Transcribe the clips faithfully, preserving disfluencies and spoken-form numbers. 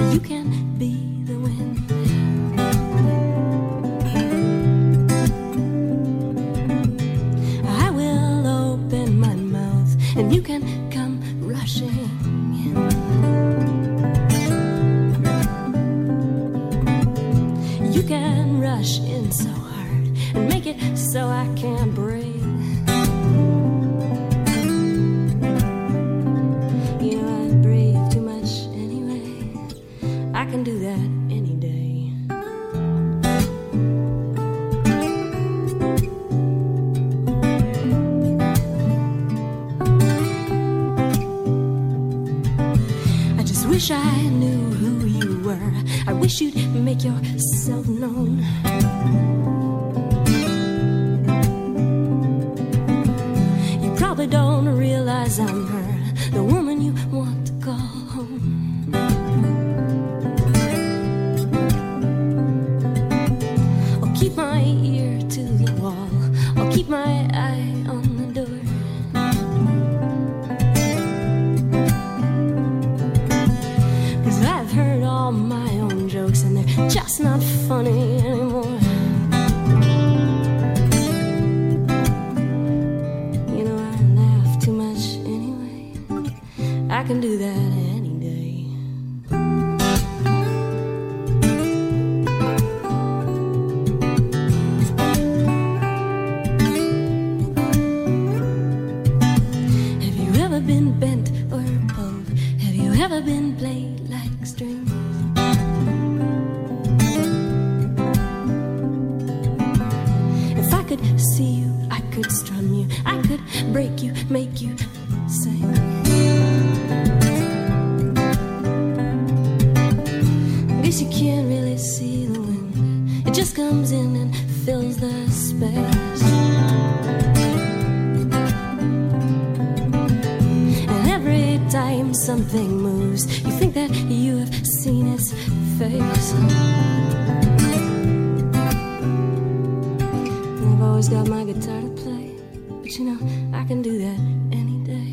You can be the wind. I will open my mouth and you can come rushing in. You can rush in so hard and make it so I can't breathe. You know I breathe too much anyway. I can do that any day. I just wish I knew who you were. I wish you'd make yourself known. You probably don't realize I'm her, the woman you want to call home. I'll keep my ear to the wall, I'll keep my eye on the door. Cause I've heard all my own jokes and they're just not funny anymore. You know I laugh too much anyway. I can do that any day. Have you ever been bent or pulled? Have you ever been played like strings? If I could see you, I could strum you, I could break you, make you sing. I guess you can't really see the wind. It just comes in and fills the space. And every time something moves, you think that you have seen its face. And I've always got my guitar to play, but you know, I can do that any day.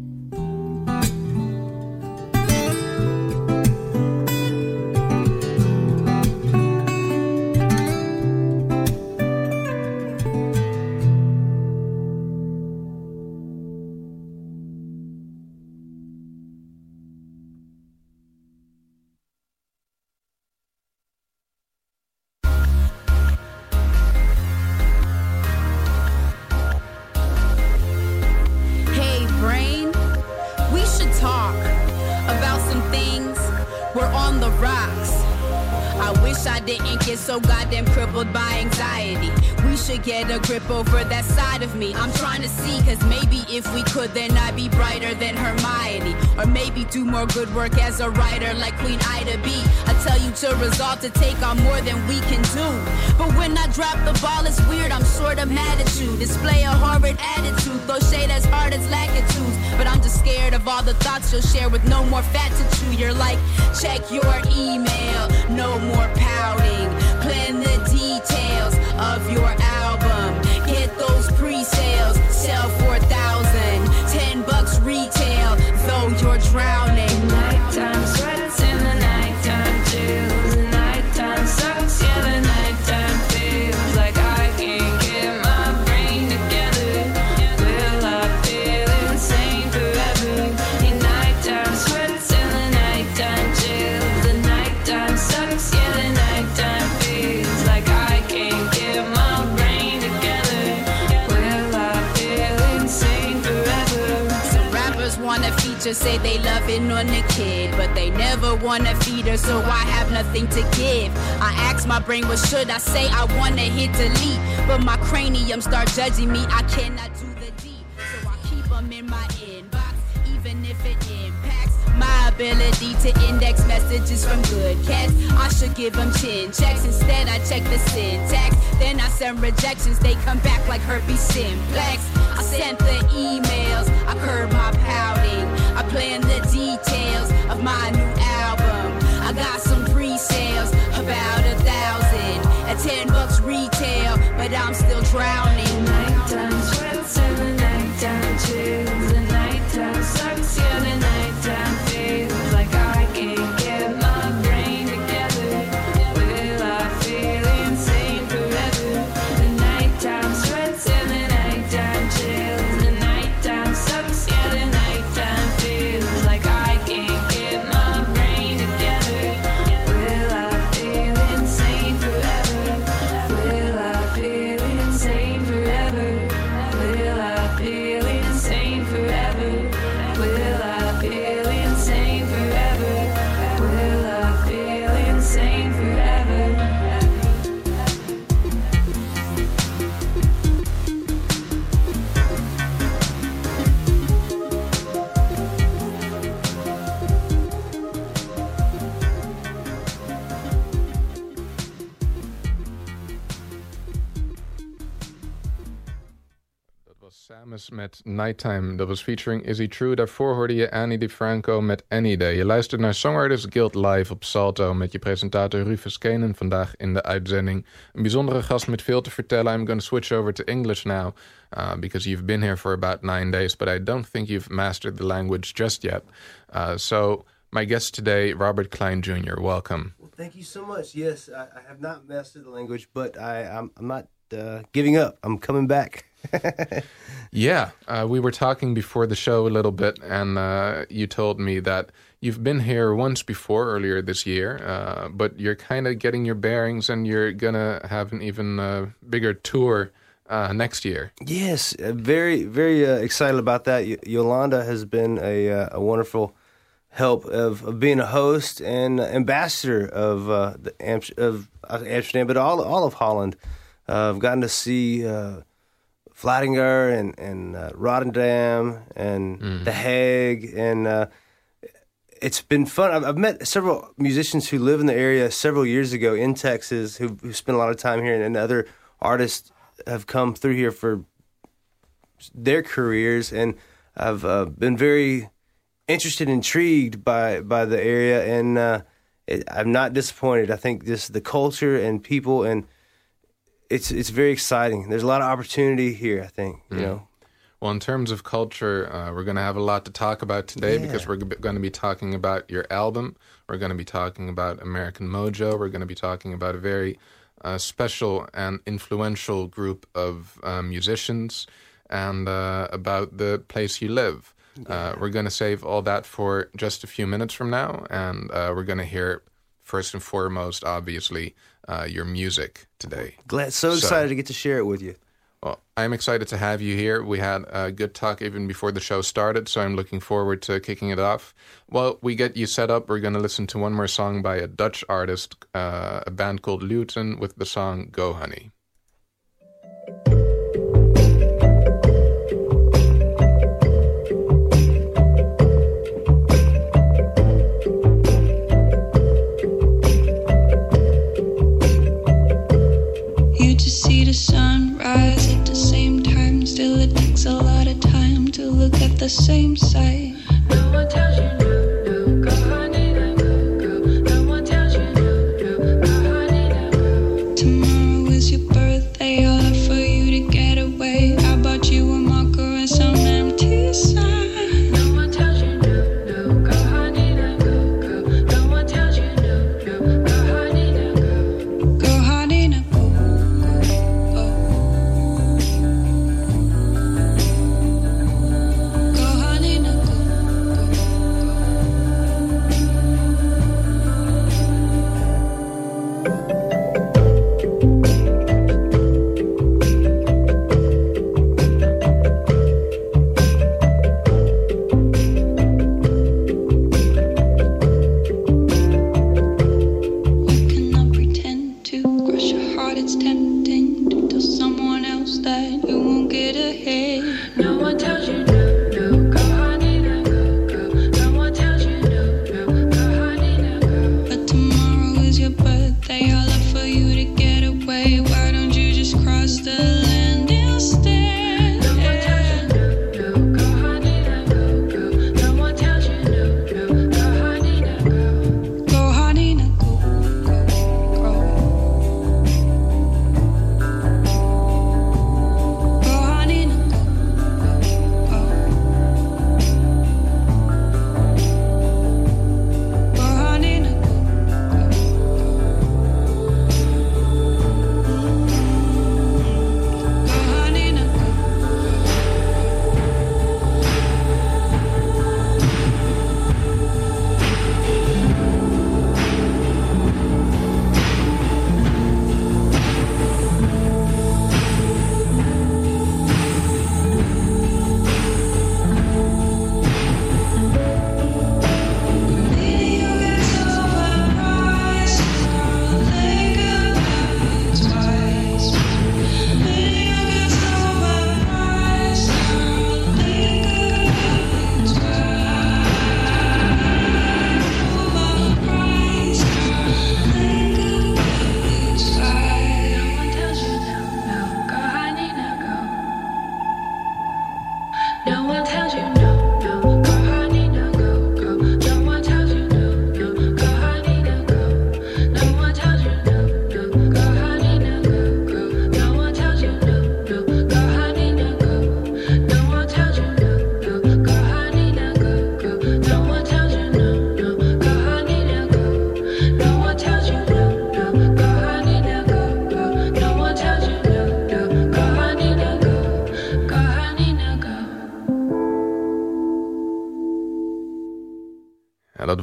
So goddamn crippled by anxiety. We should get a grip over that side of me. I'm trying to see, cause maybe if we could, then I'd be brighter than Hermione. Or maybe do more good work as a writer like Queen Ida B. I tell you to resolve to take on more than we can do. But when I drop the ball, it's weird, I'm sorta mad at you. Display a horrid attitude, throw shade as hard as lackitudes. But I'm just scared of all the thoughts you'll share with no more fat to chew. You're like, check your email, no more pouting. Plan the details of your album. Get those pre-sales, sell four thousand, ten bucks retail, though you're drowning. Nighttime sweats in the nighttime chills. The nighttime sucks, yeah, the nighttime feels like I can't get my brain together. Will I feel insane forever? In nighttime sweats in the nighttime chills. The nighttime sucks, yeah, the nighttime feels like I can't get my brain together. Will I feel insane forever? Some rappers wanna feature, say they loving on the kid, but they never wanna feed her, so I have nothing to give. I ask my brain, what should I say? I wanna hit delete, but my cranium start judging me. I cannot do the deed, so I keep them in my inbox, even if it impacts my ability to index messages from good cats. I should give them chin checks. Instead, I check the syntax. Then I send rejections. They come back like herpes simplex. I sent the emails. I curb my pouting. I plan the details of my new album. I got some pre-sales, about a thousand. At ten bucks retail, but I'm still drowning. Nighttime sweats and the nighttime chills. The nighttime sucks, yeah, the nighttime feels like I can't get my Samus met Nighttime, dat was featuring Is He True. Daarvoor hoorde je Annie DiFranco met Any Day. Je luistert naar Songwriters Guild live op Salto met je presentator Rufus Kanan vandaag in de uitzending. Een bijzondere gast met veel te vertellen. I'm going to switch over to English now uh, because you've been here for about nine days, but I don't think you've mastered the language just yet. Uh, so my guest today, Robert Klein Junior Welcome. Well, thank you so much. Yes, I, I have not mastered the language, but I, I'm, I'm not uh, giving up. I'm coming back. Yeah, uh, we were talking before the show a little bit, and uh, you told me that you've been here once before earlier this year, uh, but you're kind of getting your bearings, and you're gonna have an even uh, bigger tour uh, next year. Yes, uh, very, very uh, excited about that. Y- Yolanda has been a, uh, a wonderful help of, of being a host and ambassador of uh, the Am- of Amsterdam, but all all of Holland. Uh, I've gotten to see uh, Vlaardingen and and uh, Rotterdam and Mm. The Hague, and uh, it's been fun. I've, I've met several musicians who live in the area several years ago in Texas who who spent a lot of time here, and, and other artists have come through here for their careers, and I've uh, been very interested, intrigued by by the area, and uh, it, I'm not disappointed. I think this the culture and people, and it's it's very exciting. There's a lot of opportunity here, I think, you Mm. know. Well, in terms of culture, uh, we're going to have a lot to talk about today Yeah. because we're g- going to be talking about your album. We're going to be talking about American Mojo. We're going to be talking about a very uh, special and influential group of uh, musicians, and uh, about the place you live. Uh, we're going to save all that for just a few minutes from now, and uh, we're going to hear, first and foremost, obviously, uh, your music today. Glad, so So- excited to get to share it with you. Well, I'm excited to have you here. We had a good talk even before the show started, so I'm looking forward to kicking it off. While we get you set up, we're going to listen to one more song by a Dutch artist, uh, a band called Luton, with the song Go Honey. You just see the sun rise at the same time. Still, it takes a lot of time to look at the same sight. No one tells you no, no, go honey, no, go, go. No one tells you no, no, go honey, no, go. Tomorrow is your birthday, all for you to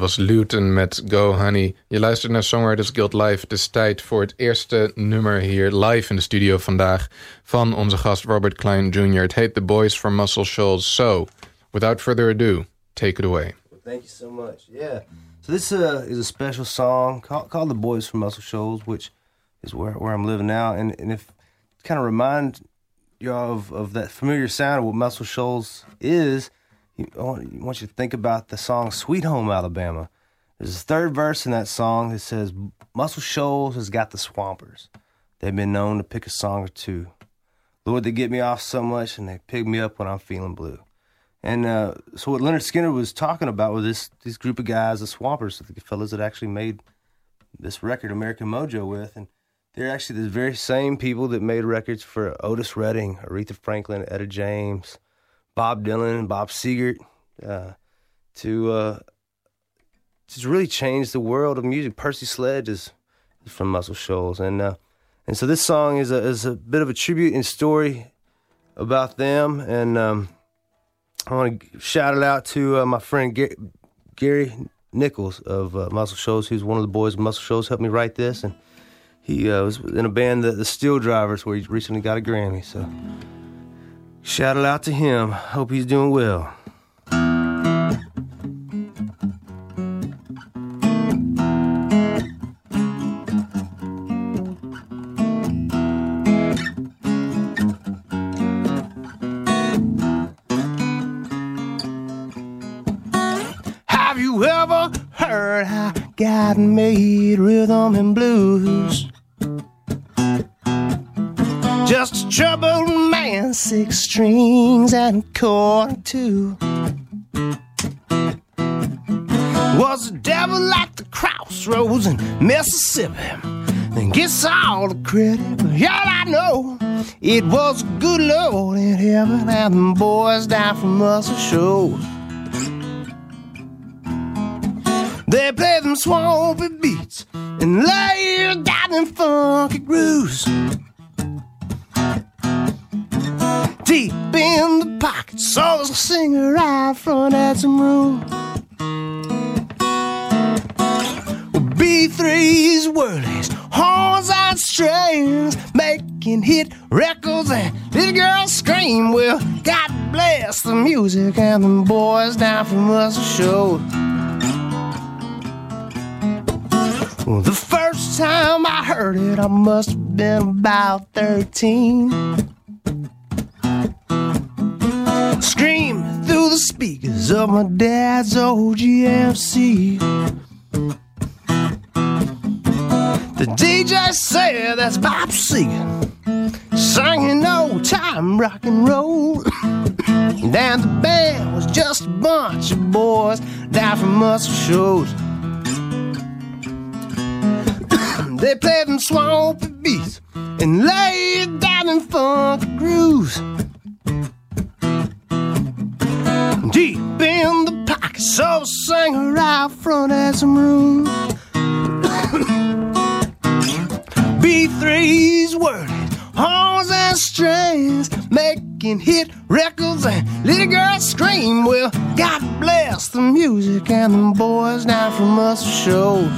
was Luton met Go Honey. Je luistert naar Songwriters Guild Live. Het is tijd voor het eerste nummer hier live in de studio vandaag van onze gast Robert Klein junior Het heet The Boys from Muscle Shoals. So, without further ado, take it away. Well, thank you so much. Yeah. So this uh, is a special song called, called The Boys from Muscle Shoals, which is where, where I'm living now. And, and if kind of remind you of, of that familiar sound of what Muscle Shoals is, I want you to think about the song Sweet Home Alabama. There's a third verse in that song that says, Muscle Shoals has got the Swampers. They've been known to pick a song or two. Lord, they get me off so much and they pick me up when I'm feeling blue. And uh, so what Leonard Skinner was talking about with this this group of guys, the Swampers, the fellas that actually made this record, American Mojo, with, and they're actually the very same people that made records for Otis Redding, Aretha Franklin, Etta James, Bob Dylan, Bob Seger, uh, to uh, to really change the world of music. Percy Sledge is, is from Muscle Shoals, and uh, and so this song is a is a bit of a tribute and story about them. And um, I want to shout it out to uh, my friend Gary, Gary Nichols of uh, Muscle Shoals, who's one of the boys of Muscle Shoals, helped me write this, and he uh, was in a band, the, the Steel Drivers, where he recently got a Grammy. So. Shout it out to him. Hope he's doing well. Have you ever heard how God made rhythm and blues? Just a troubled man, six strings and a chord too. Was the devil like the crossroads in Mississippi? Then gets all the credit, but all I know, it was a good Lord in heaven and them boys down from Muscle Shoals. They play them swampy beats and lay down them funky grooves. Deep in the pocket, saw the singer out front at some room. B threes, whirlies, horns and strings, making hit records and little girls scream. Well, God bless the music and them boys down from Muscle Shoals. Well, the first time I heard it, I must have been about thirteen. Screaming through the speakers of my dad's old G M C. The D J said that's Bob Seger singing old time rock and roll. And the band was just a bunch of boys down from Muscle Shoals. They played them swampy beats and laid down in funky grooves. Deep in the pocket, so the singer out front had some room. B threes, whirling, horns and strings, making hit records and little girls scream. Well, God bless the music and them boys down from Muscle Shoals.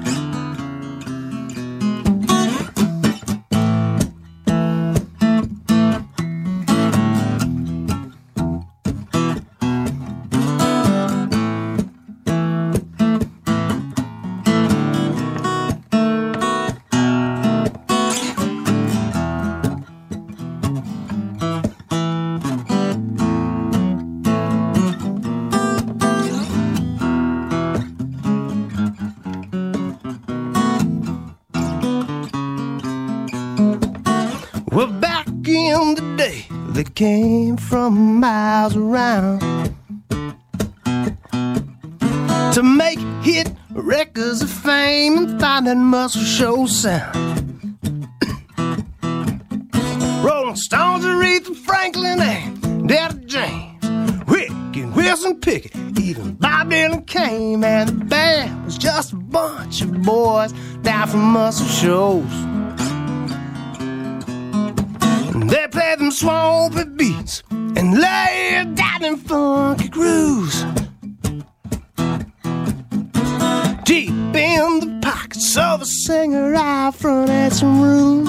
Well, back in the day, they came from miles around to make hit records of fame and find that Muscle Shoals sound. Rolling Stones, Aretha Franklin, and Etta James, Rick and Wilson Pickett, even Bob Dylan came, and the band was just a bunch of boys down from Muscle Shoals. They play them swampy beats and lay down in funky grooves. deep in the pockets of a singer out front at some room.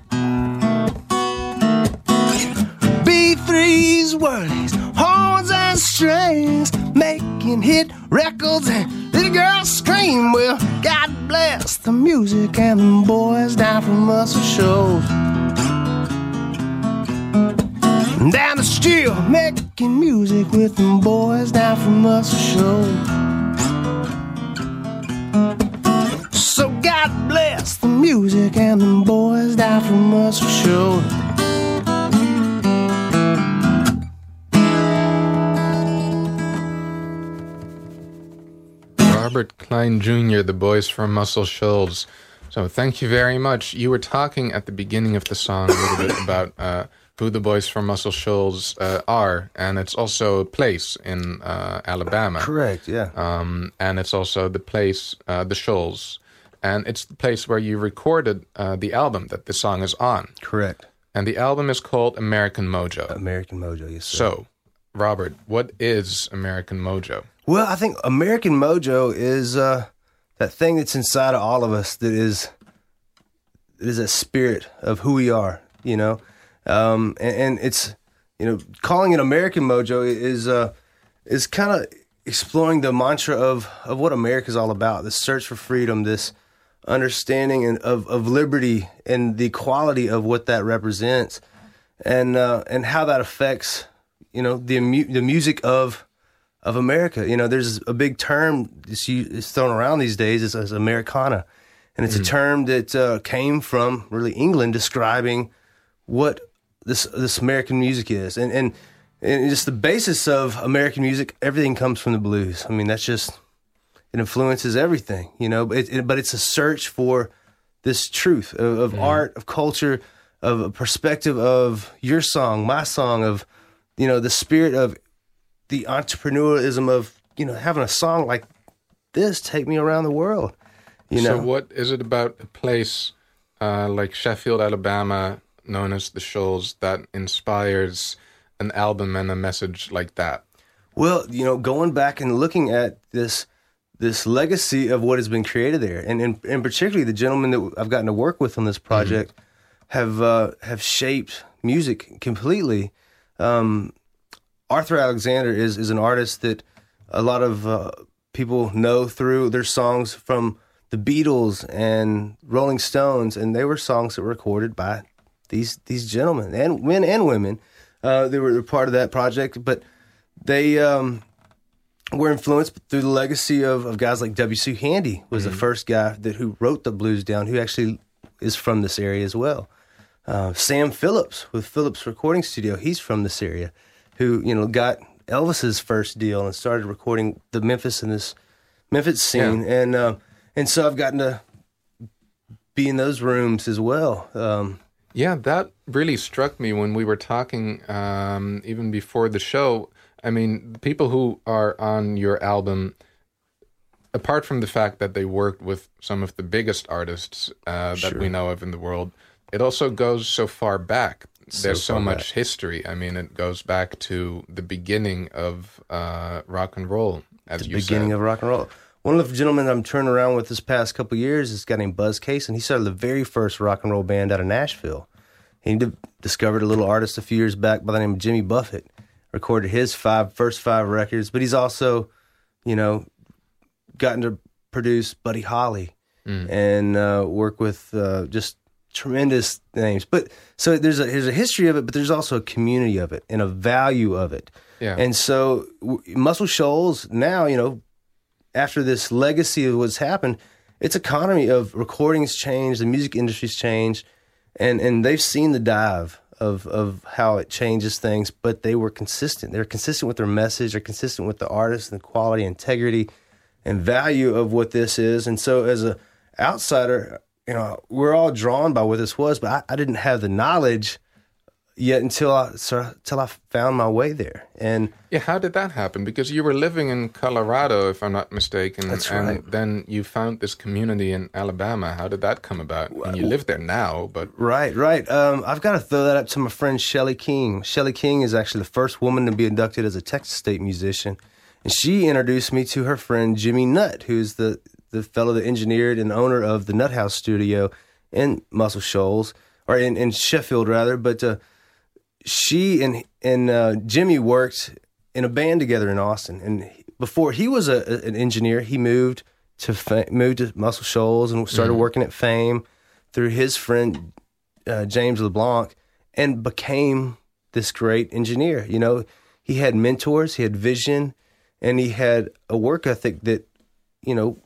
B threes, whirlies, horns and strings, making hit records and little girls scream. Well, God bless the music and the boys down from Muscle Shoals. Down the street, making music with them boys down from Muscle Shoals. So God bless the music and them boys down from Muscle Shoals. Robert Klein Junior, the boys from Muscle Shoals. So thank you very much. You were talking at the beginning of the song a little bit about uh, who the boys from Muscle Shoals uh, are, and it's also a place in uh, Alabama. Correct, yeah. Um, and it's also the place, uh, the Shoals, and it's the place where you recorded uh, the album that the song is on. Correct. And the album is called American Mojo. American Mojo, yes, sir. So, Robert, what is American Mojo? Well, I think American Mojo is uh, that thing that's inside of all of us that is, that is a spirit of who we are, you know? Um, and, and it's, you know, calling it American Mojo is uh, is kind of exploring the mantra of, of what America's all about, this search for freedom, this understanding and of, of liberty and the equality of what that represents, and uh, and how that affects, you know, the mu- the music of of America. You know, there's a big term that's, that's thrown around these days as, as Americana, and it's mm. a term that uh, came from really England, describing what this this American music is, and and and just the basis of American music. Everything comes from the blues. I mean, that's just, it influences everything, you know. It, it, but it's a search for this truth of, of mm. art, of culture, of a perspective of your song, my song, of, you know, the spirit of the entrepreneurialism of, you know, having a song like this take me around the world. You know. So what is it about a place uh, like Sheffield, Alabama, known as the Shoals, that inspires an album and a message like that? Well, you know, going back and looking at this this legacy of what has been created there, and and, and particularly the gentlemen that I've gotten to work with on this project mm-hmm. have uh, have shaped music completely. Um, Arthur Alexander is is an artist that a lot of uh, people know through their songs from the Beatles and Rolling Stones, and they were songs that were recorded by these these gentlemen, and men and women. Uh, they were part of that project, but they um, were influenced through the legacy of, of guys like W C Handy was mm-hmm. the first guy that who wrote the blues down, who actually is from this area as well. Uh, Sam Phillips with Phillips Recording Studio, he's from this area, who, you know, got Elvis's first deal and started recording the Memphis and this Memphis scene, yeah. and uh, and so I've gotten to be in those rooms as well. Um, Yeah, that really struck me when we were talking, um, even before the show. I mean, the people who are on your album, apart from the fact that they worked with some of the biggest artists uh, that sure. we know of in the world, it also goes so far back. So There's so much back. history. I mean, it goes back to the beginning of uh, rock and roll, as the you beginning said. of rock and roll. One of the gentlemen I'm turning around with this past couple of years is a guy named Buzz Case, and he started the very first rock and roll band out of Nashville. He d- discovered a little artist a few years back by the name of Jimmy Buffett, recorded his five first five records, but he's also, you know, gotten to produce Buddy Holly mm. and uh, work with uh, just tremendous names. But so there's a there's a history of it, but there's also a community of it and a value of it. Yeah. And so w- Muscle Shoals now, you know, after this legacy of what's happened, its economy of recordings changed, the music industry's changed, and and they've seen the dive of of how it changes things, but they were consistent. They're consistent with their message. They're consistent with the artist and the quality, integrity, and value of what this is. And so as a outsider, you know, we're all drawn by what this was, but I, I didn't have the knowledge yet until I until I found my way there. And yeah, how did that happen? Because you were living in Colorado, if I'm not mistaken. That's and right. then you found this community in Alabama. How did that come about? Well, and you live there now, but right, right. Um, I've got to throw that up to my friend Shelly King. Shelly King is actually the first woman to be inducted as a Texas State musician, and she introduced me to her friend Jimmy Nutt, who's the the fellow that engineered and owner of the Nut House studio in Muscle Shoals, or in, in Sheffield rather. But uh, she and and uh, Jimmy worked in a band together in Austin. And before he was a, a, an engineer, he moved to fa- moved to Muscle Shoals and started mm-hmm. working at Fame through his friend uh, James LeBlanc, and became this great engineer. You know, he had mentors, he had vision, and he had a work ethic that, you know,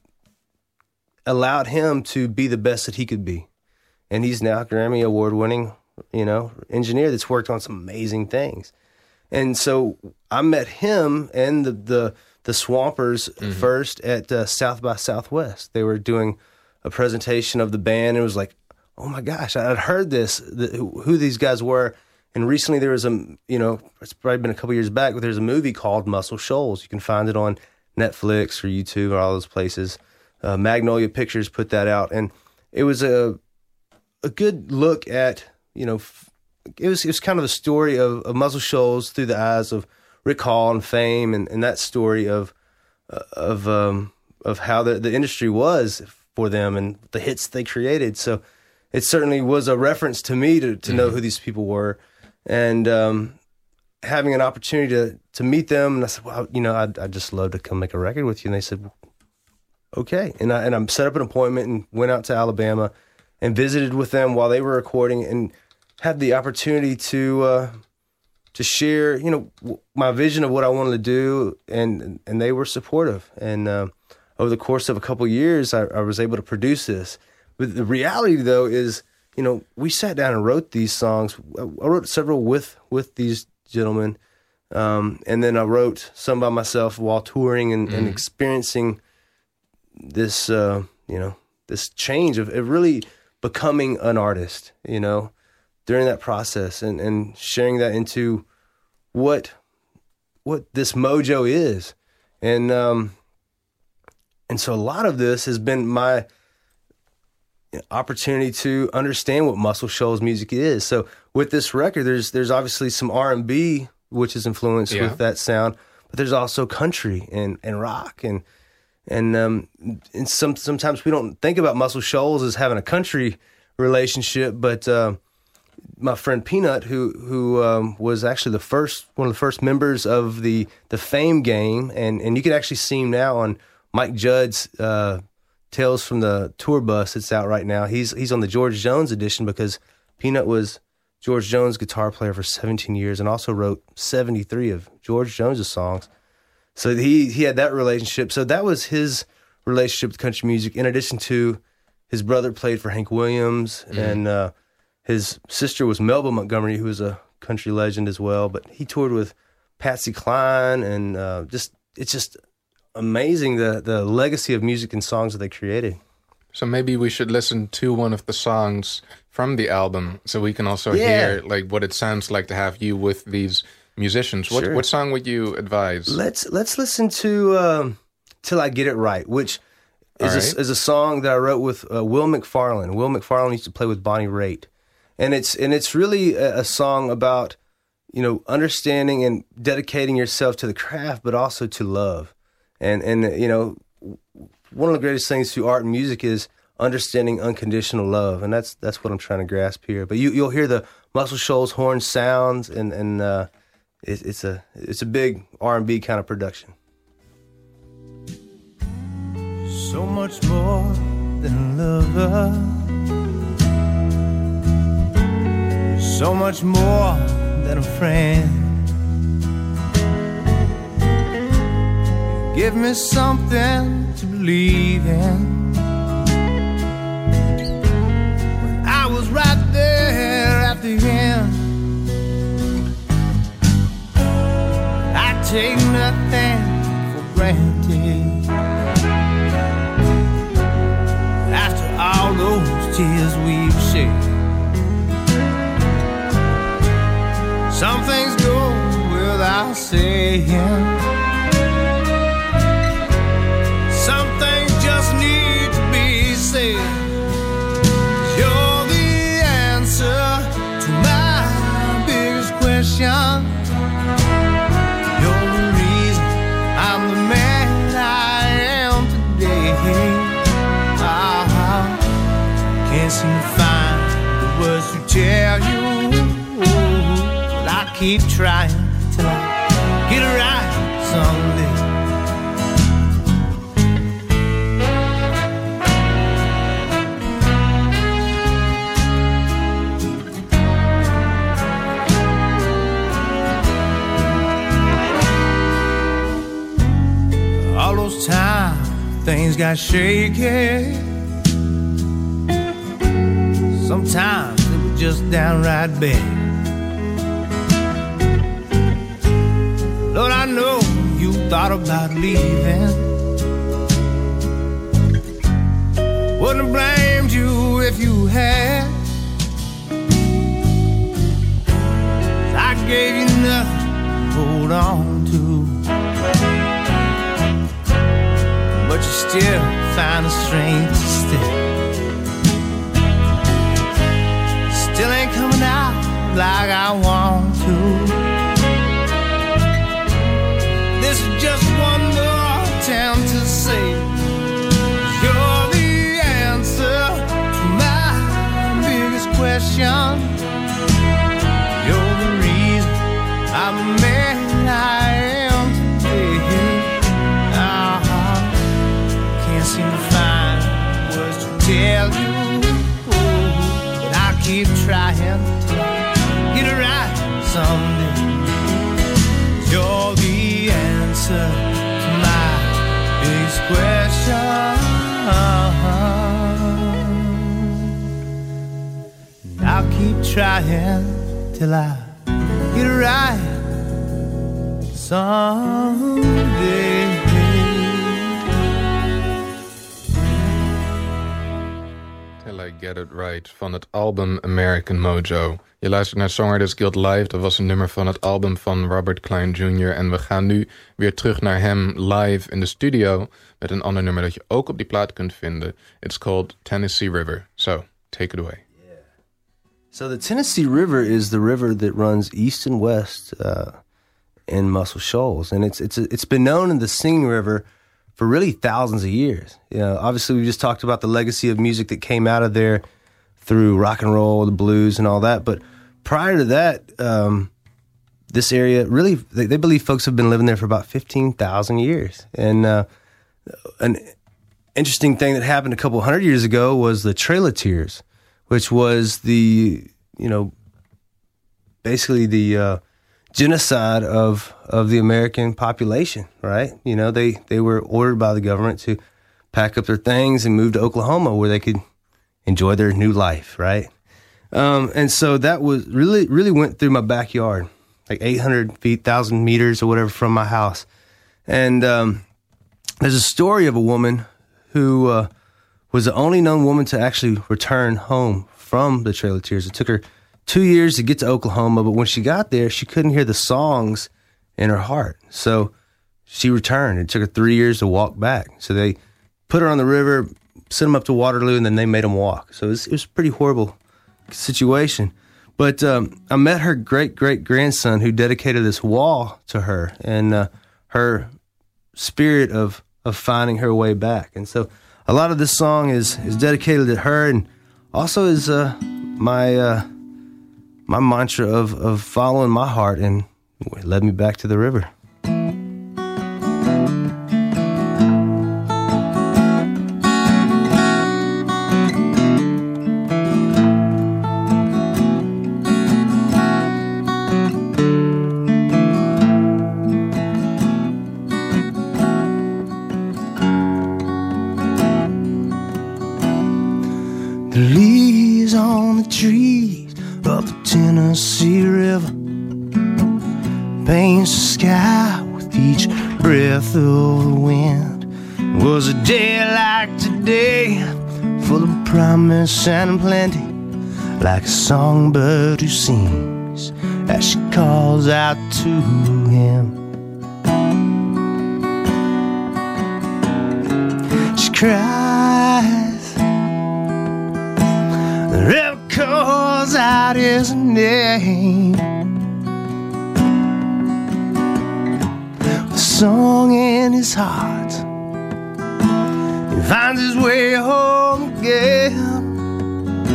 allowed him to be the best that he could be. And he's now a Grammy award-winning, you know, engineer that's worked on some amazing things. And so I met him and the the, the Swampers mm-hmm. first at uh, South by Southwest. They were doing a presentation of the band, and it was like, oh my gosh, I'd heard this, the, who these guys were. And recently there was a, you know, it's probably been a couple years back, but there's a movie called Muscle Shoals. You can find it on Netflix or YouTube or all those places. Uh, Magnolia Pictures put that out. And it was a a good look at, you know, it was it was kind of a story of, of Muscle Shoals through the eyes of Rick Hall and Fame, and, and that story of uh, of um, of how the, the industry was for them and the hits they created. So it certainly was a reference to me to, to mm-hmm. know who these people were. And um, having an opportunity to, to meet them, and I said, well, you know, I'd, I'd just love to come make a record with you. And they said, well, okay. And I and I set up an appointment and went out to Alabama and visited with them while they were recording, and had the opportunity to uh, to share, you know, my vision of what I wanted to do, and and they were supportive. And uh, over the course of a couple of years, I, I was able to produce this. But the reality, though, is, you know, we sat down and wrote these songs. I wrote several with with these gentlemen, um, and then I wrote some by myself while touring and, mm. and experiencing this, uh, you know, this change of it really becoming an artist, you know, during that process, and, and sharing that into what what this mojo is. And um, and so a lot of this has been my opportunity to understand what Muscle Shoals music is. So with this record, there's there's obviously some R and B, which is influenced yeah. with that sound, but there's also country and, and rock, and and um and some sometimes we don't think about Muscle Shoals as having a country relationship, but uh, my friend Peanut, who who um, was actually the first one of the first members of the the Fame game, and and you can actually see him now on Mike Judd's uh, Tales from the Tour Bus that's out right now. He's he's on the George Jones edition, because Peanut was George Jones' guitar player for seventeen years and also wrote seventy-three of George Jones' songs. So he he had that relationship. So that was his relationship with country music, in addition to his brother played for Hank Williams, mm. and uh, his sister was Melba Montgomery, who was a country legend as well. But he toured with Patsy Cline, and uh, just it's just amazing the the legacy of music and songs that they created. So maybe we should listen to one of the songs from the album, so we can also yeah. hear like what it sounds like to have you with these musicians. What sure. what song would you advise? Let's let's listen to um, "Till I Get It Right," which is right. a, is a song that I wrote with uh, Will McFarlane. Will McFarlane used to play with Bonnie Raitt, and it's and it's really a, a song about, you know, understanding and dedicating yourself to the craft, but also to love. And, and you know, one of the greatest things through art and music is understanding unconditional love. And that's that's what I'm trying to grasp here. But you, you'll hear the Muscle Shoals horn sounds, and, and uh, it, it's a it's a big R and B kind of production. So much more than a lover, so much more than a friend. Give me something to believe in, when I was right there at the end. I take nothing for granted. After all those tears we've shed, some things go without saying. Some things just need to be said. You're the answer to my biggest question. You're the reason I'm the man I am today. can't seem to find the words to tell you, but I keep trying till I get it right someday. All those times things got shaky. Sometimes it was just downright bad. Lord, I know you thought about leaving. Wouldn't have blamed you if you had. I gave you nothing to hold on to, but you still find the strength to stay. Still ain't coming out like I want to. This is just one more attempt to say you're the answer to my biggest question. You're the reason I'm the man I am today. Uh-huh. Can't seem to find words to tell you, but I keep trying to get it right someday. You're the answer to my biggest question. And I'll keep trying till I get it right someday. Till I Get It Right van het album American Mojo. Je luistert naar Songwriters Guild Live. Dat was een nummer van het album van Robert Klein junior En we gaan nu weer terug naar hem live in de studio met een ander nummer dat je ook op die plaat kunt vinden. It's called Tennessee River. So, take it away. Yeah. So the Tennessee River is the river that runs east and west uh, in Muscle Shoals. And it's it's it's been known in the Singing River for really thousands of years. You know, obviously we just talked about the legacy of music that came out of there through rock and roll, the blues, and all that. But prior to that, um, this area really, they, they believe folks have been living there for about fifteen thousand years. And uh, an interesting thing that happened a couple hundred years ago was the Trail of Tears, which was the, you know, basically the uh, genocide of of the American population, right? You know, they, they were ordered by the government to pack up their things and move to Oklahoma where they could enjoy their new life, right? Um, and so that was really, really went through my backyard, like eight hundred feet, one thousand meters or whatever from my house. And um, there's a story of a woman who uh, was the only known woman to actually return home from the Trail of Tears. It took her two years to get to Oklahoma, but when she got there, she couldn't hear the songs in her heart. So she returned. It took her three years to walk back. So they put her on the river, sent them up to Waterloo, and then they made them walk. So it was, it was a pretty horrible situation. But um, I met her great-great-grandson who dedicated this wall to her and uh, her spirit of, of finding her way back. And so a lot of this song is, is dedicated to her and also is uh, my uh, my mantra of, of following my heart, and it led me back to the river. The leaves on the trees up the Tennessee River paints the sky with each breath of the wind. It was a day like today, full of promise and plenty, like a songbird who sings as she calls out to him. She cries, the river calls out his name. With a song in his heart, he finds his way home again.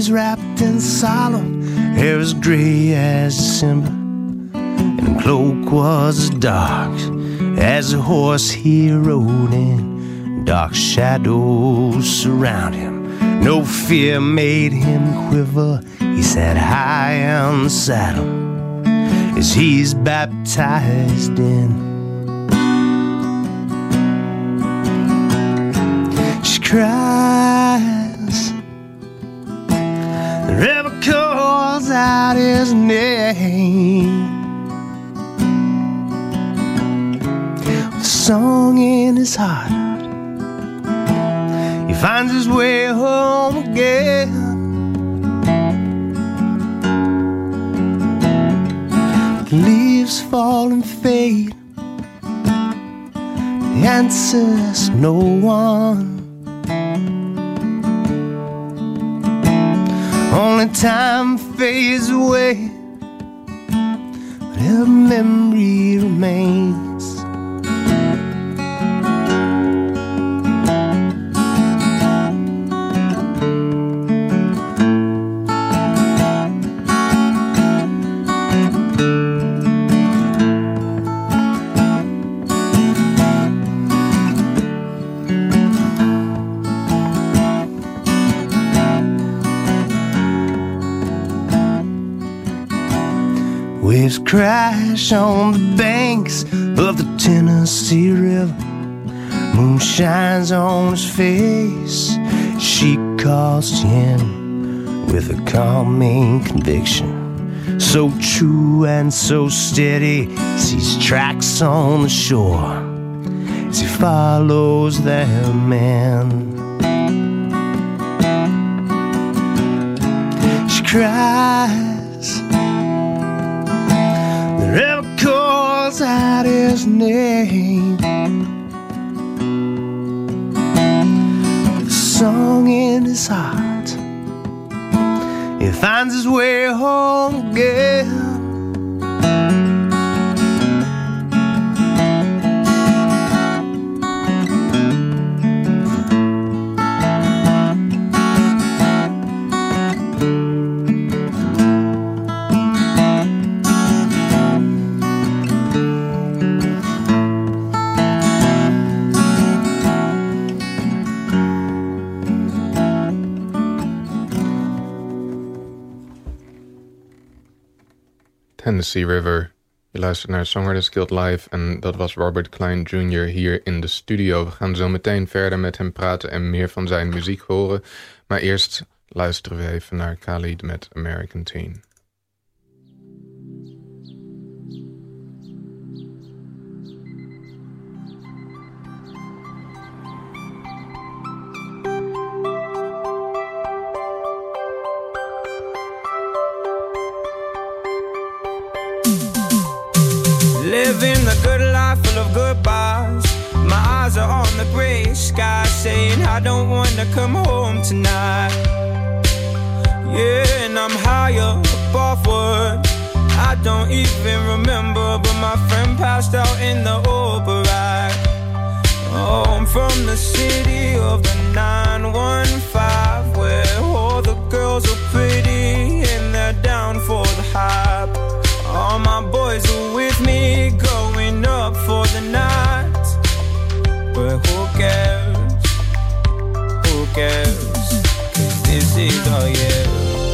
was wrapped in solemn, hair as gray as December, and the cloak was as dark as the horse he rode in. Dark shadows surround him, no fear made him quiver. He sat high on the saddle as he's baptized in. She cries, the river calls out his name, with a song in his heart. He finds his way home again. The leaves fall and fade, the answer's no one. Only time fades away, but her memory remains. Waves crash on the banks of the Tennessee River. Moon shines on his face. She calls to him with a calming conviction, so true and so steady. Sees tracks on the shore as he follows their man. She cries, the river calls out his name, with a song in his heart. He finds his way home again. Tennessee River. Je luistert naar Songwriters Guild Live en dat was Robert Klein junior hier in de studio. We gaan zo meteen verder met hem praten en meer van zijn muziek horen. Maar eerst luisteren we even naar Khalid met American Teen. Living the good life full of goodbyes. My eyes are on the gray sky, saying I don't wanna come home tonight. Yeah, and I'm higher above what I don't even remember, but my friend passed out in the Uber ride. Oh, I'm from the city of the nine one five, where all the girls are pretty and they're down for the hype. All my boys are with me, going up for the night. But who cares? Who cares? 'Cause this is our year.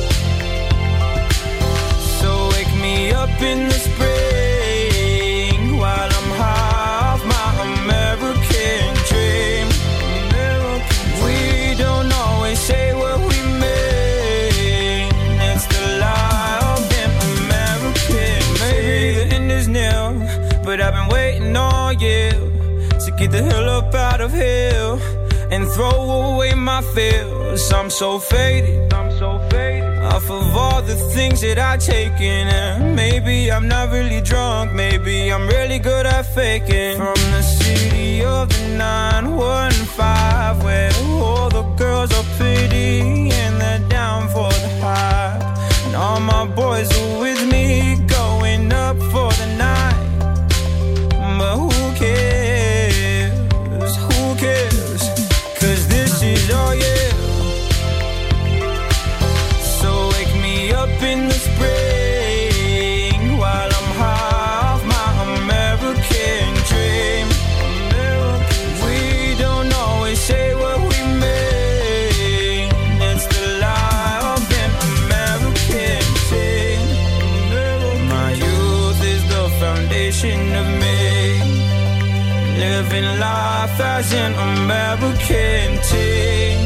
So wake me up in the spring while I'm high off my American dream. American. We don't always say what we mean. It's the lie of them American. Maybe the end is near, but I've been waiting all year to get the hell up out of here and throw away my fears. I'm so faded, I'm so faded off of all the things that I've taken. And maybe I'm not really drunk, maybe I'm really good at faking. From the city of the nine one five, where all the girls are pretty and they're down for the hype. And all my boys are with me, going up for the night. But who cares? Who cares? 'Cause this is all, yeah. living life as an American teen.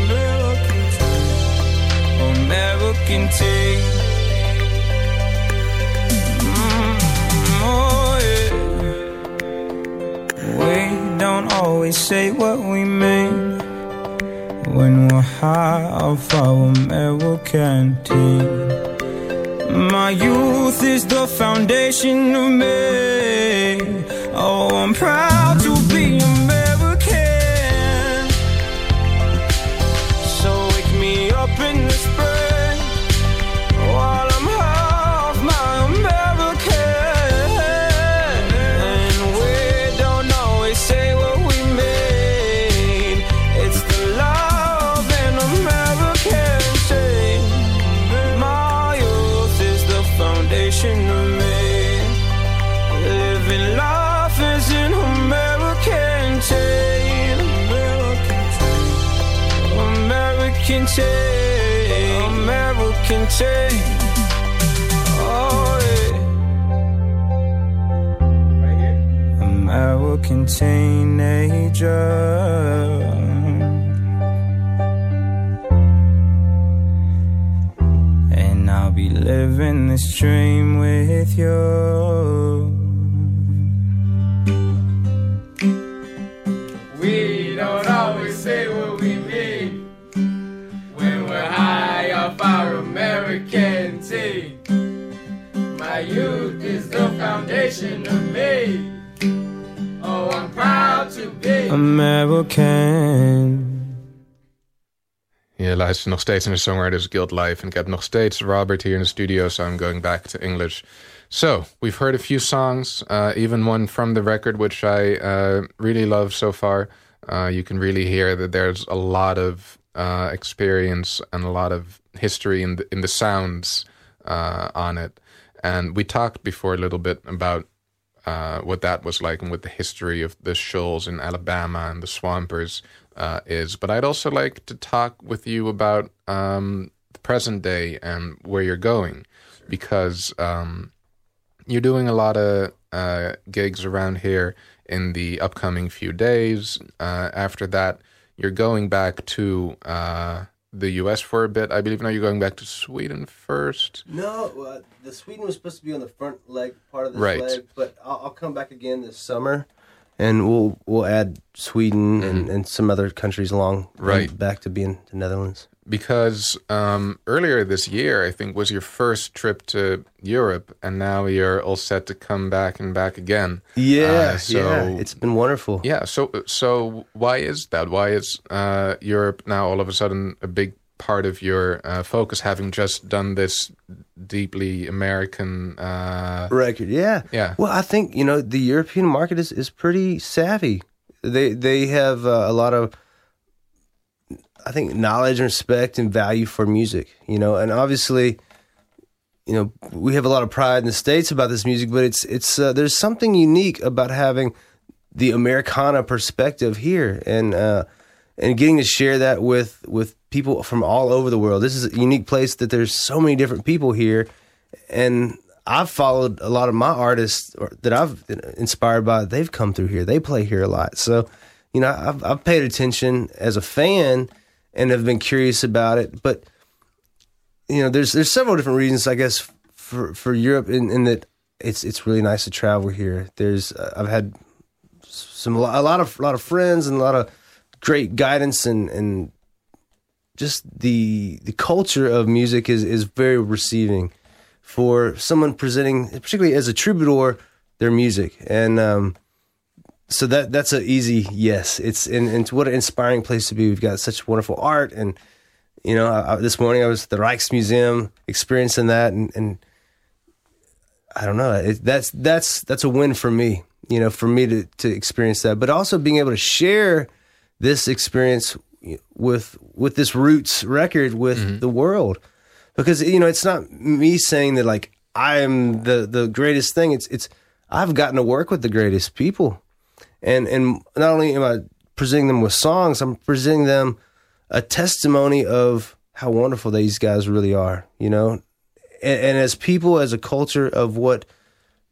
American teen. Mm, oh yeah. We don't always say what we mean when we're high off our American teen. My youth is the foundation of me. Oh, I'm proud to be American. So wake me up in the spring while I'm half my American. And we don't always say what we mean. It's the love in American teen. My youth is the foundation of me. Living life is an American teen. American teen. American teen. Oh yeah. American teenager. And I'll be living this dream with you. We don't always say what we mean when we're high off our American teen. My youth is the foundation of me. Oh, I'm proud to be American. Je luistert nog steeds naar de Songwriters Guild Live. En ik heb nog steeds Robert hier in de studio, so I'm going back to English. So, we've heard a few songs, uh, even one from the record, which I uh, really love so far. Uh, you can really hear that there's a lot of uh, experience and a lot of history in the, in the sounds uh, on it. And we talked before a little bit about uh, what that was like and what the history of the Shoals in Alabama and the Swampers uh, is. But I'd also like to talk with you about um, the present day and where you're going, because um, you're doing a lot of uh, gigs around here in the upcoming few days. Uh, after that, you're going back to uh, the U S for a bit. I believe now you're going back to Sweden first. No, uh, the Sweden was supposed to be on the front leg part of this Right. leg, but I'll, I'll come back again this summer, and we'll we'll add Sweden Mm-hmm. and, and some other countries along Right. back to being the Netherlands. Because um, earlier this year, I think, was your first trip to Europe, and now you're all set to come back and back again. Yeah, Uh, so yeah, it's been wonderful. Yeah, so so why is that? Why is uh, Europe now all of a sudden a big part of your uh, focus, having just done this deeply American uh, record? Yeah, Yeah. Well, I think you know the European market is, is pretty savvy. They they have uh, a lot of, I think, knowledge and respect and value for music. You know, and obviously, you know, we have a lot of pride in the States about this music, but it's it's uh, there's something unique about having the Americana perspective here, and uh, and getting to share that with with people from all over the world. This is a unique place that there's so many different people here, and I've followed a lot of my artists or, that I've been inspired by. They've come through here. They play here a lot. So, you know, I've, I've paid attention as a fan and have been curious about it. But, you know, there's there's several different reasons, I guess, for for Europe, in, in that it's it's really nice to travel here. There's uh, I've had some a lot of a lot of friends and a lot of great guidance, and and just the the culture of music is is very receiving for someone presenting, particularly as a troubadour, their music. And um, so that that's an easy yes. It's and, and what an inspiring place to be. We've got such wonderful art, and you know, I, I, this morning I was at the Rijksmuseum experiencing that, and, and I don't know, it, that's that's that's a win for me. You know, for me to to experience that, but also being able to share this experience with with this Roots record with mm-hmm. the world. Because, you know, it's not me saying that, like, I'm the, the greatest thing. It's it's I've gotten to work with the greatest people. And and not only am I presenting them with songs, I'm presenting them a testimony of how wonderful these guys really are, you know? And, and as people, as a culture of what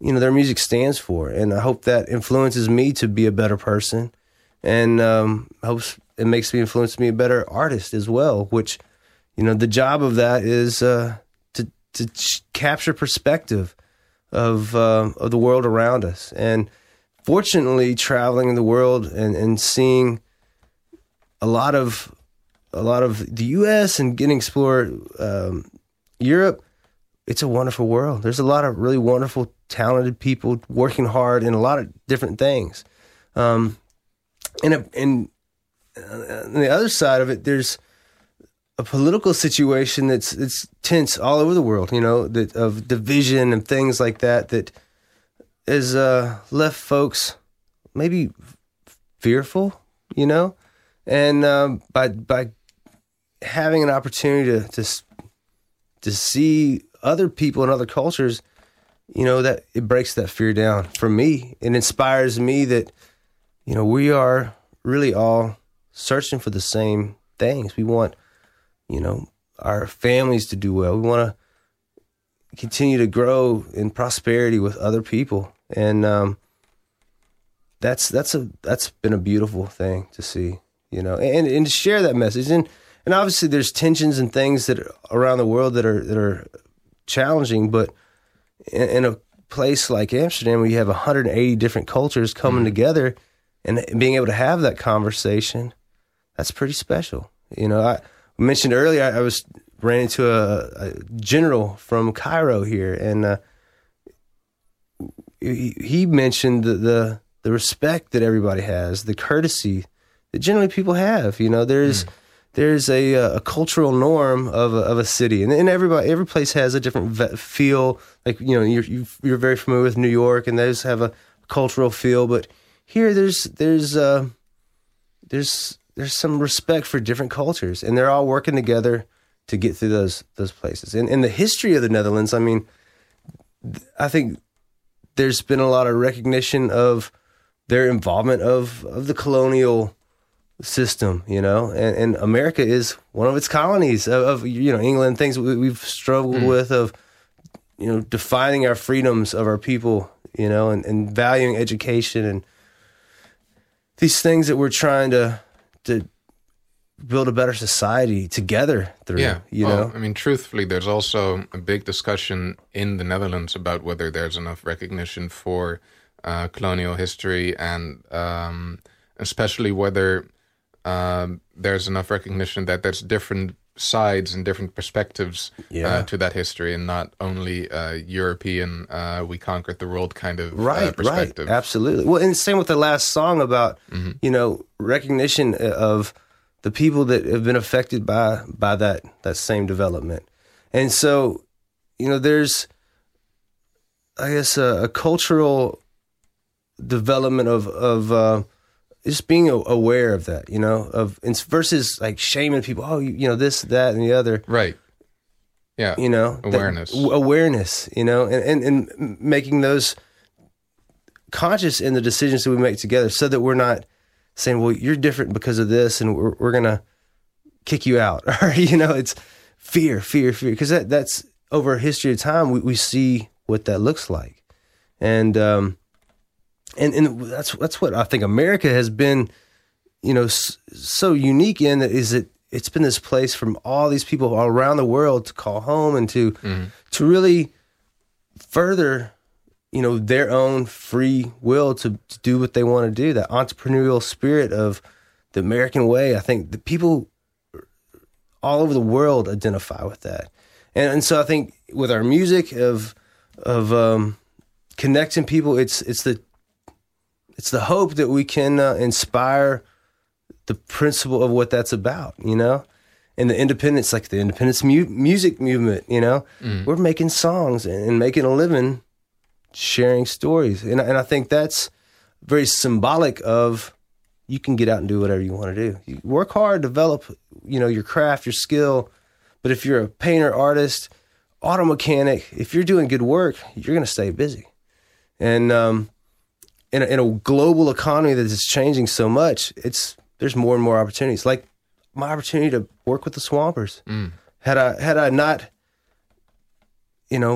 you know, their music stands for. And I hope that influences me to be a better person, and um, hopes it makes me influence me a better artist as well, which, you know, the job of that is uh, to to ch- capture perspective of uh, of the world around us. And fortunately, traveling the world and, and seeing a lot of a lot of the U S and getting to explore um, Europe, it's a wonderful world. There's a lot of really wonderful, talented people working hard in a lot of different things. Um, and a, and on the other side of it, there's a political situation that's it's tense all over the world. You know, that of division and things like that that has uh, left folks maybe fearful. You know, and um, by by having an opportunity to, to to see other people and other cultures, you know, that it breaks that fear down for me. It inspires me that, you know, we are really all searching for the same things. We want, you know, our families to do well. We want to continue to grow in prosperity with other people. And um, that's that's a that's been a beautiful thing to see, you know, and, and to share that message. And And obviously, there's tensions and things that are around the world that are that are challenging. But in, in a place like Amsterdam, where you have one hundred eighty different cultures coming mm-hmm. together and being able to have that conversation, that's pretty special. You know, I mentioned earlier I, I was ran into a, a general from Cairo here, and uh, he, he mentioned the, the the respect that everybody has, the courtesy that generally people have. You know, there's. Mm. There's a, a cultural norm of a, of a city, and, and everybody, every place has a different ve- feel. Like, you know, you're you're very familiar with New York, and those have a cultural feel. But here, there's there's uh, there's there's some respect for different cultures, and they're all working together to get through those those places. And in the history of the Netherlands, I mean, I think there's been a lot of recognition of their involvement of of the colonial system, you know, and, and America is one of its colonies of, of you know, England, things we, we've struggled mm. with of, you know, defining our freedoms of our people, you know, and, and valuing education and these things that we're trying to to build a better society together through, yeah. you well, know? I mean, truthfully, there's also a big discussion in the Netherlands about whether there's enough recognition for uh, colonial history, and um, especially whether Um, there's enough recognition that there's different sides and different perspectives yeah. uh, to that history, and not only uh, European, uh, we conquered the world kind of right, uh, perspective. Right, absolutely. Well, and same with the last song about, mm-hmm. you know, recognition of the people that have been affected by by that that same development. And so, you know, there's, I guess, a, a cultural development of, of uh, just being aware of that, you know, of versus like shaming people. Oh, you, you know, this, that, and the other. Right. Yeah. You know, awareness, that, awareness, you know, and, and, and making those conscious in the decisions that we make together, so that we're not saying, well, you're different because of this, and we're, we're going to kick you out. Or, you know, it's fear, fear, fear. Because that, that's over a history of time, we, we see what that looks like. And, um, And and that's that's what I think America has been, you know, so unique in, that is that it's been this place from all these people all around the world to call home, and to mm-hmm. to really further, you know, their own free will to, to do what they want to do. That entrepreneurial spirit of the American way. I think the people all over the world identify with that, and and so I think with our music of of um, connecting people, it's it's the It's the hope that we can uh, inspire the principle of what that's about, you know? And the independence, like the independence mu- music movement, you know? Mm. We're making songs and, and making a living sharing stories. And, and I think that's very symbolic of, you can get out and do whatever you want to do. You work hard, develop, you know, your craft, your skill. But if you're a painter, artist, auto mechanic, if you're doing good work, you're going to stay busy. And, um, In a, in a global economy that is changing so much, it's there's more and more opportunities. Like my opportunity to work with the Swampers. Mm. Had I had I not, you know,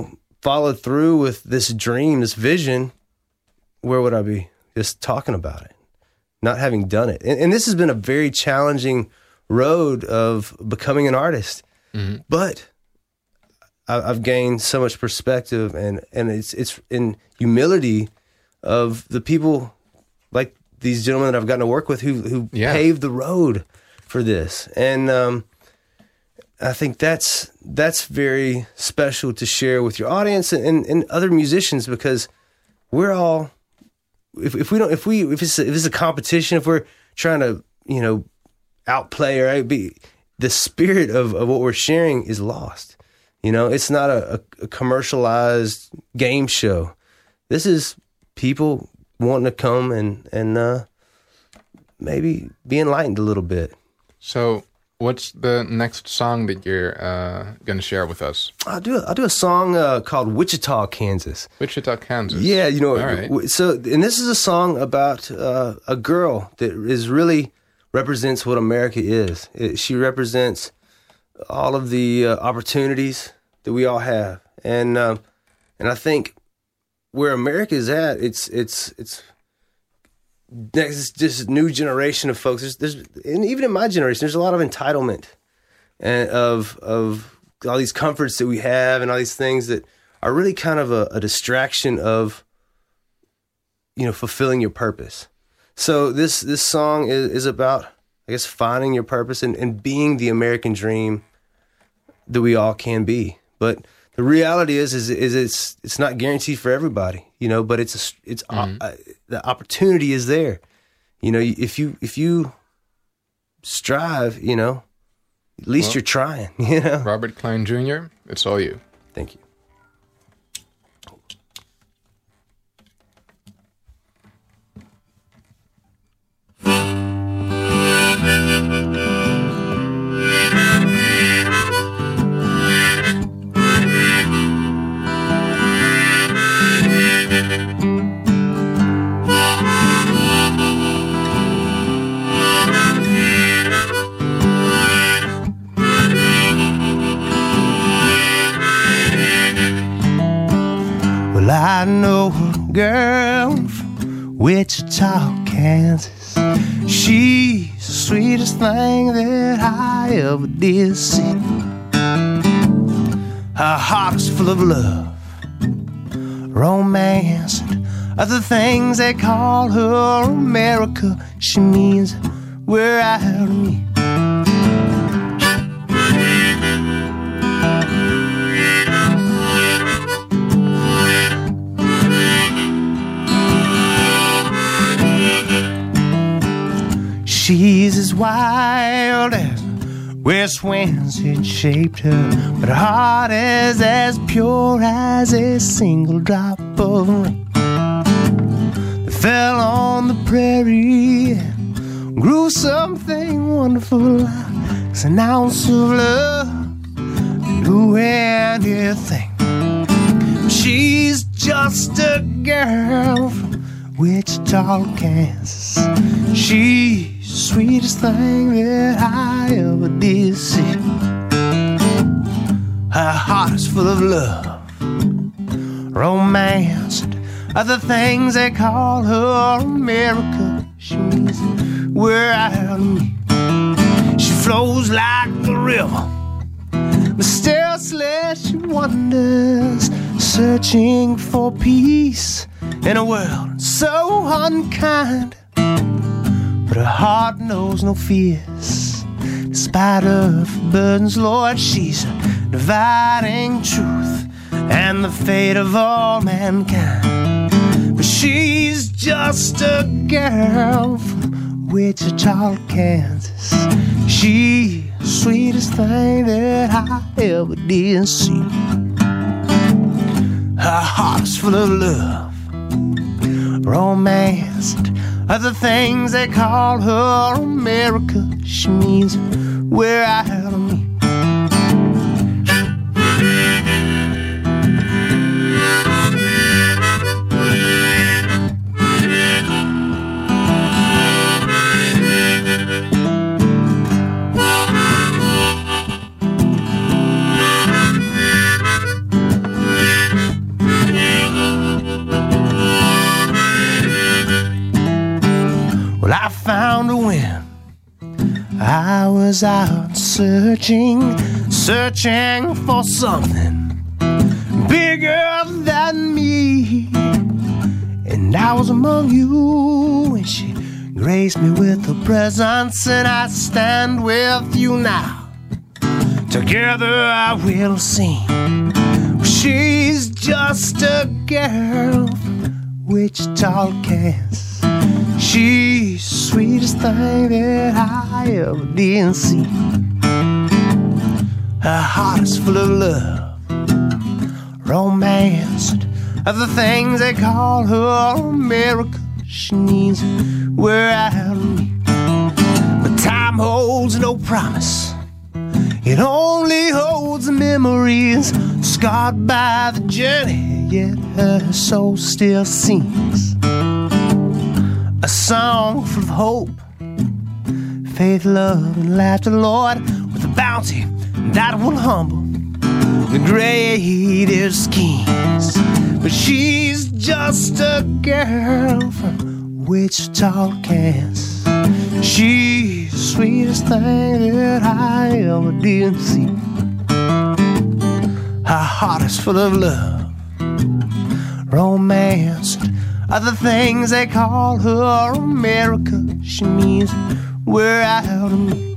followed through with this dream, this vision, where would I be? Just talking about it, not having done it. And, and this has been a very challenging road of becoming an artist. Mm-hmm. But I, I've gained so much perspective, and, and it's it's in humility of the people like these gentlemen that I've gotten to work with who who yeah. paved the road for this. And um, I think that's that's very special to share with your audience and, and, and other musicians, because we're all if if we don't if we if it's a, if it's a competition, if we're trying to you know outplay or be the spirit of, of what we're sharing is lost. You know, it's not a, a commercialized game show. This is people wanting to come and and uh, maybe be enlightened a little bit. So, what's the next song that you're uh, going to share with us? I'll do a, I'll do a song uh, called Wichita, Kansas. Wichita, Kansas. Yeah, you know. All right. So, and this is a song about uh, a girl that is really represents what America is. It, she represents all of the uh, opportunities that we all have, and um, and I think where America is at, it's it's it's next just new generation of folks. There's, there's and even in my generation, there's a lot of entitlement and of of all these comforts that we have and all these things that are really kind of a, a distraction of you know fulfilling your purpose. So this this song is, is about, I guess, finding your purpose and, and being the American dream that we all can be. But the reality is, is, is it's it's not guaranteed for everybody, you know. But it's a, it's mm-hmm. uh, the opportunity is there, you know. If you if you strive, you know, at least well, you're trying, you know. Robert Klein Junior, it's all you. Thank you. Well, I know a girl from Wichita, Kansas. She's the sweetest thing that I ever did see. Her heart is full of love, romance, and other things they call her America. She means we're out of me. She's as wild as west winds had shaped her, but her heart is as pure as a single drop of rain that fell on the prairie and grew something wonderful like an ounce of love, do anything. She's just a girl from Wichita, Kansas. She's the sweetest thing that I ever did see. Her heart is full of love, romance, and other things they call her America. She's we're out of me. She flows like the river, mysteriously she wanders, searching for peace in a world so unkind. But her heart knows no fears. Despite her burdens, Lord, she's dividing truth and the fate of all mankind. But she's just a girl from Wichita, Kansas. She's the sweetest thing that I ever did see. Her heart's full of love, romance, and other things they call her America. She means we're out of me. found her when I was out searching, searching for something bigger than me. And I was among you, and she graced me with her presence, and I stand with you now. Together I will sing. She's just a girl from Wichita, Kansas. She's the sweetest thing that I ever did see. Her heart is full of love, romance, and other things they call her America. She needs we're out of me. But time holds no promise. It only holds the memories scarred by the journey, yet her soul still sings a song full of hope, faith, love, and laughter, Lord, with a bounty that will humble the greatest kings. But she's just a girl from Wichita, Kansas. She's the sweetest thing that I ever did see. Her heart is full of love, romance, and other things they call her America. She means we're out of me.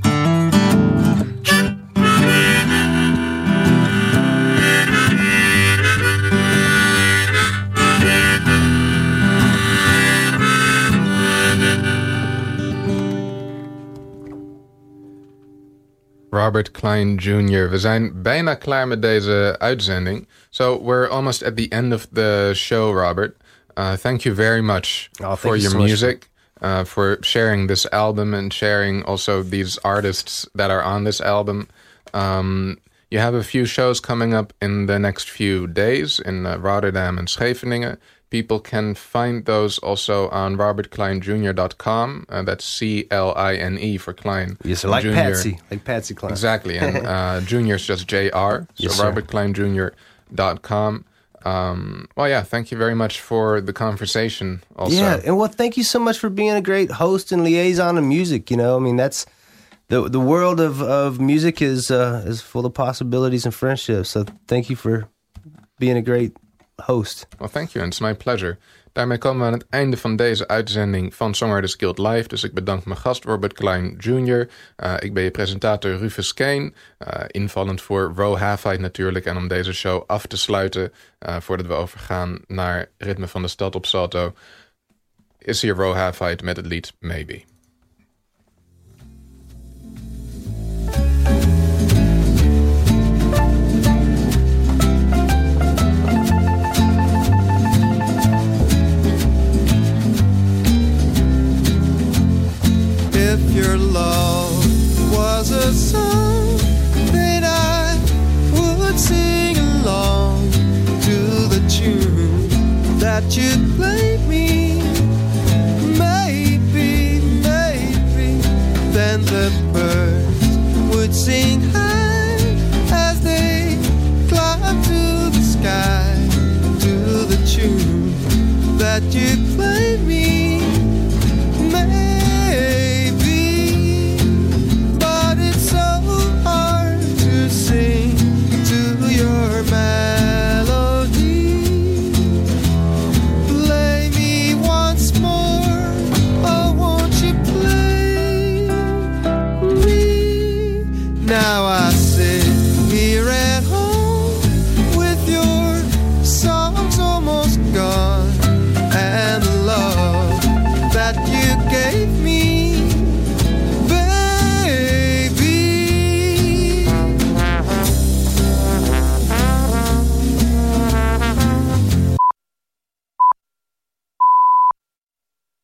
Robert Klein junior We zijn bijna klaar met deze uitzending. So we're almost at the end of the show, Robert. Uh, thank you very much oh, for you your so music, uh, for sharing this album and sharing also these artists that are on this album. Um, you have a few shows coming up in the next few days in uh, Rotterdam and Scheveningen. People can find those also on robert klein junior dot com. Uh, that's C L I N E for Klein. Yes, like Junior. Patsy. Like Patsy Klein. Exactly. And uh, Junior's just J R. So yes, robert klein junior dot com. Um, well, yeah, thank you very much for the conversation also. Yeah, and well, thank you so much for being a great host and liaison of music. You know, I mean, that's... The the world of, of music is uh, is full of possibilities and friendships. So thank you for being a great host. Well, thank you, and it's my pleasure. Daarmee komen we aan het einde van deze uitzending van Songwriters Guild Live. Dus ik bedank mijn gast Robert Klein junior Uh, ik ben je presentator Rufus Kane. Uh, invallend voor Ro Halfheid natuurlijk. En om deze show af te sluiten, uh, voordat we overgaan naar Ritme van de Stad op Salto, is hier Ro Halfheid met het lied Maybe. If your love was a song, then I would sing along to the tune that you'd play me. Maybe, maybe, then the birds would sing high as they climb to the sky to the tune that you'd play.